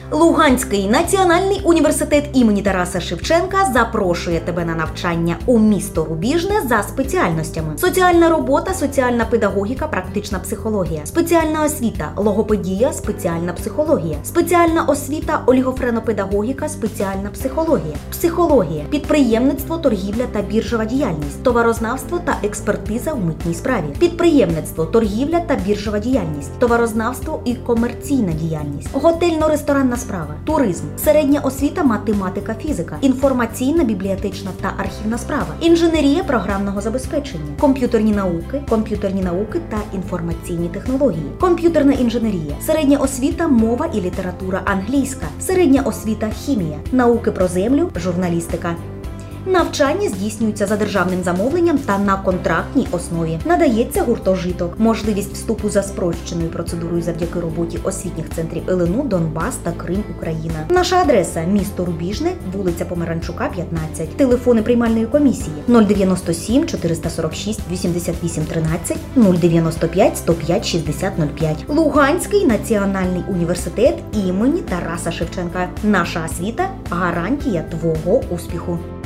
Луганський національний університет імені Тараса Шевченка запрошує тебе на навчання у місто Рубіжне за спеціальностями: соціальна робота, соціальна педагогіка, практична психологія, спеціальна освіта, логопедія, спеціальна психологія, спеціальна освіта, олігофренопедагогіка, спеціальна психологія, психологія, підприємництво, торгівля та біржова діяльність, товарознавство та експертиза в митній справі, підприємництво, торгівля та біржова діяльність, товарознавство і комерційна діяльність, готельно-ресторанна справа, туризм, середня освіта, математика, фізика, інформаційна, бібліотечна та архівна справа, інженерія програмного забезпечення, комп'ютерні науки та інформаційні технології, комп'ютерна інженерія, середня освіта, мова і література англійська, середня освіта, хімія, науки про землю, журналістика. Навчання здійснюється за державним замовленням та на контрактній основі. Надається гуртожиток, можливість вступу за спрощеною процедурою завдяки роботі освітніх центрів ЛНУ, Донбас та Крим, Україна. Наша адреса – місто Рубіжне, вулиця Помаранчука, 15. Телефони приймальної комісії: 097 446 88 13, 095 105 60 05. Луганський національний університет імені Тараса Шевченка. Наша освіта – гарантія твого успіху.